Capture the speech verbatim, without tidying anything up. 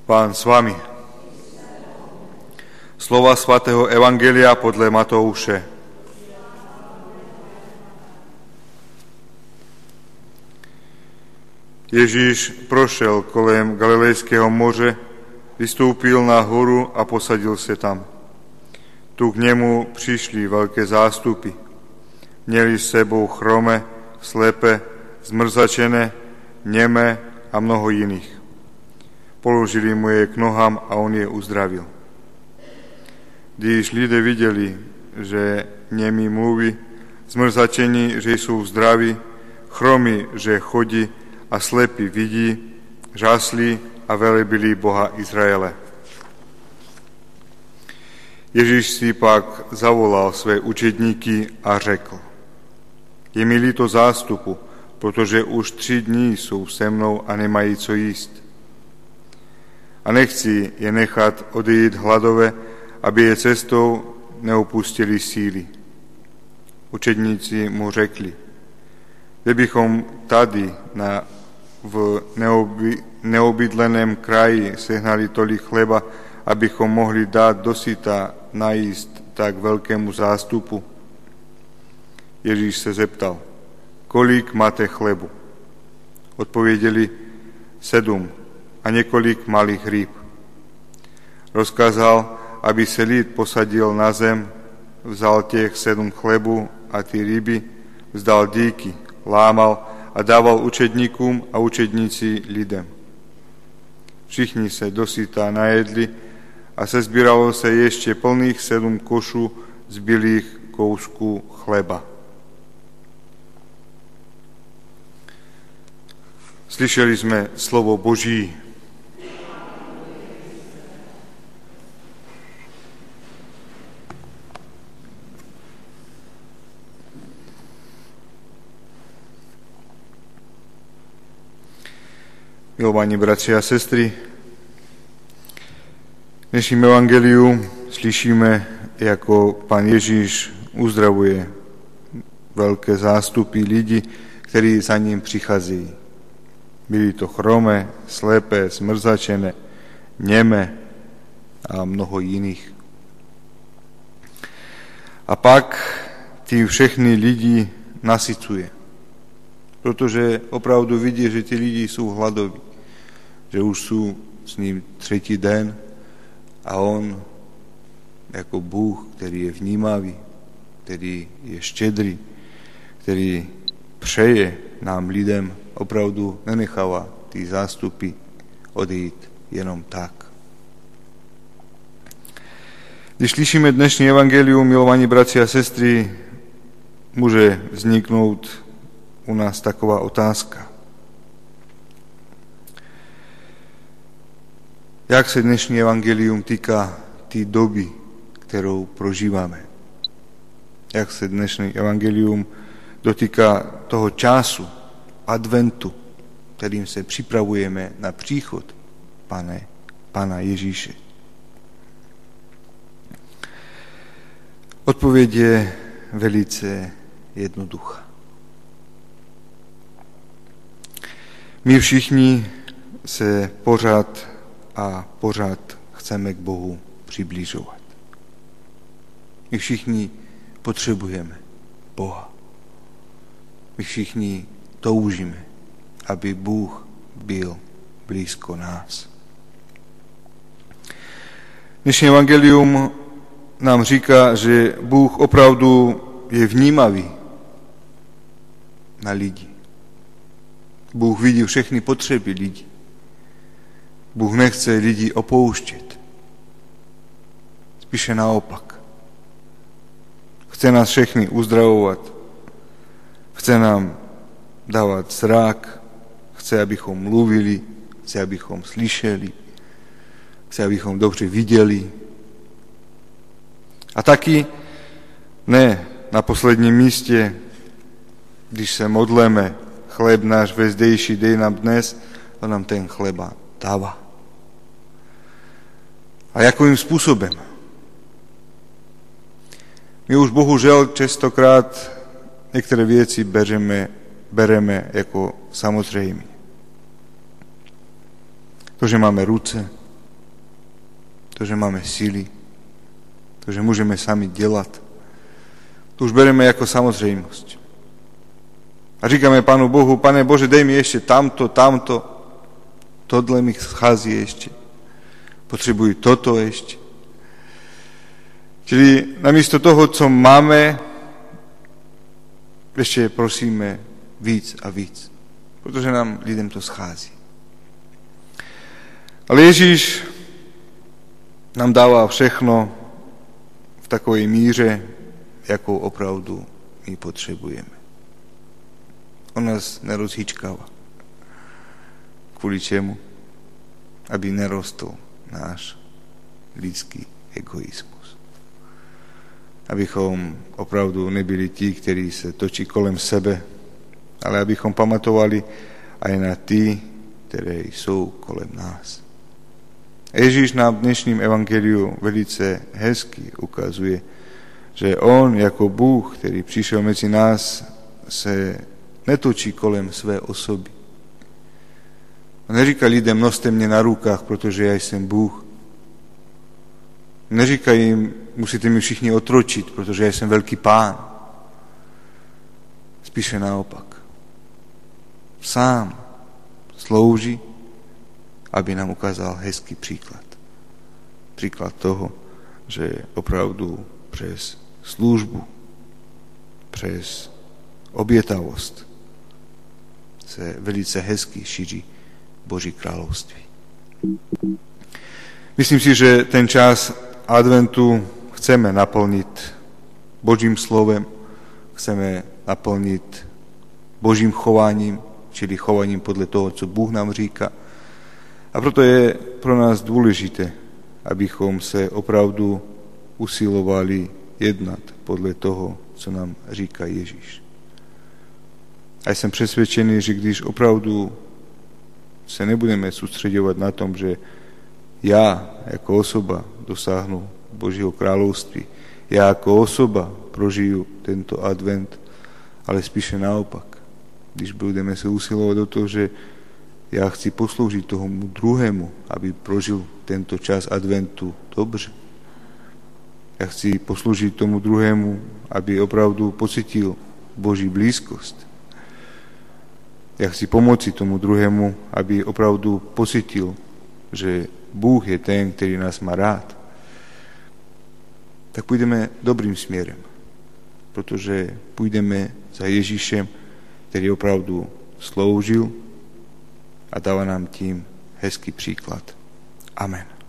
Pán s vami. Slova svätého Evangelia podľa Matouše. Ježíš prošel kolem Galilejského moře, vystúpil na horu a posadil sa tam. Tu k nemu prišli veľké zástupy. Mieli s sebou chrome, slepe, zmrzačené, neme a mnoho iných. Položili mu je k nohám a on je uzdravil. Když lidé videli, že nemi mluví, zmrzačení, že sú zdraví, chromy, že chodí a slepí vidí, žasli a velebili Boha Izraele. Ježíš si pak zavolal své učedníky a řekl: Je mi líto zástupu, protože už tři dní sú se mnou a nemají co jíst. A nechci je nechat odejít hladové, aby je cestou neopustili síly. Učedníci mu řekli: Kdybychom tady na, v neoby, neobydleném kraji sehnali tolik chleba, abychom mohli dát dosyta najíst tak veľkému zástupu. Ježíš se zeptal: Kolik máte chlebu? Odpověděli: Sedm a několik malých rýb. Rozkázal, aby se lid posadil na zem, vzal těch sedm chlebu a ty ryby, vzdal díky, lámal a dával učedníkům a učedníci lidem. Všichni se dosyta najedli a sezbíralo se ještě plných sedm košů zbylých kousků chleba. Slyšeli sme slovo Boží. Milovaní bratři a sestry, v dnešním evangeliu slyšíme, ako Pán Ježíš uzdravuje veľké zástupy lidí, ktorí za ním prichádzajú. Byli to chromé, slepé, zmrzačené, neme a mnoho iných. A pak tí všechny lidi nasycuje, protože opravdu vidí, že tí lidi sú hladoví, že už sú s ním tretí den a on ako Bůh, ktorý je vnímavý, ktorý je štedrý, ktorý přeje nám lidem, opravdu nenecháva tí zástupy odejít jenom tak. Když slyšíme dnešní evangelium, milovaní bratři a sestry, môže vzniknúť u nás taková otázka. Jak se dnešní evangelium týka té doby, kterou prožíváme? Jak se dnešní evangelium dotýka toho času, adventu, kterým se připravujeme na příchod Pane, Pána Ježíše? Odpověď je velice jednoduchá. My všichni se pořád a pořád chceme k Bohu přibližovat. My všichni potřebujeme Boha. My všichni toužíme, aby Bůh byl blízko nás. Dnešní evangelium nám říká, že Bůh opravdu je vnímavý na lidi. Bůh vidí všechny potřeby lidí. Bůh nechce lidi opouštět. Spíše naopak. Chce nás všechny uzdravovat. Chce nám dávat zrak. Chce, abychom mluvili. Chce, abychom slyšeli. Chce, abychom dobře viděli. A taky ne na posledním místě, když se modleme, chléb náš vezdejší dej nám dnes, to nám ten chleba dává. A jakým způsobem? My už bohužel častokrát některé věci bereme, bereme jako samozřejmé. To, že máme ruce, to, že máme síly, to, že môžeme sami delať, to už bereme ako samozrejmosť. A říkáme Pánu Bohu, Pane Bože, dej mi ešte tamto, tamto, tohle mi schází ešte. Potrebujú toto ešte. Čili namiesto toho, co máme, ešte prosíme víc a víc, protože nám lidem to schází. Ale Ježíš nám dáva všechno v takovej míře, jakou opravdu my potřebujeme. On nás nerozhýčkáva. Kvôli čemu? Aby nerostol náš lidský egoizmus. Abychom opravdu nebyli tí, ktorí sa točí kolem sebe, ale abychom pamatovali aj na tí, ktorí sú kolem nás. Ježíš nám v dnešním evangeliu velice hezky ukazuje, že on jako Bůh, který přišel mezi nás, se netočí kolem své osoby. On neříká lidem, noste mě na rukách, protože já jsem Bůh. Neříká jim, musíte mi všichni otročit, protože já jsem velký pán. Spíše naopak. Sám slouží, aby nám ukázal hezký příklad. Příklad toho, že opravdu přes službu, přes obětavost se velice hezky šíří Boží království. Myslím si, že ten čas adventu chceme naplnit Božím slovem, chceme naplnit Božím chováním, čili chováním podle toho, co Bůh nám říká. A proto je pro nás důležité, abychom se opravdu usilovali jednat podle toho, co nám říká Ježíš. A jsem přesvědčený, že když opravdu se nebudeme soustředovat na tom, že já jako osoba dosáhnu Božího království, já jako osoba prožiju tento advent, ale spíše naopak. Když budeme se usilovat do toho, že já chci posloužit tomu druhému, aby prožil tento čas adventu dobře. Já chci posloužit tomu druhému, aby opravdu pocitil Boží blízkost. Já chci pomoci tomu druhému, aby opravdu pocitil, že Bůh je ten, který nás má rád. Tak půjdeme dobrým směrem, protože půjdeme za Ježíšem, který opravdu sloužil a dává nám tím hezký příklad. Amen.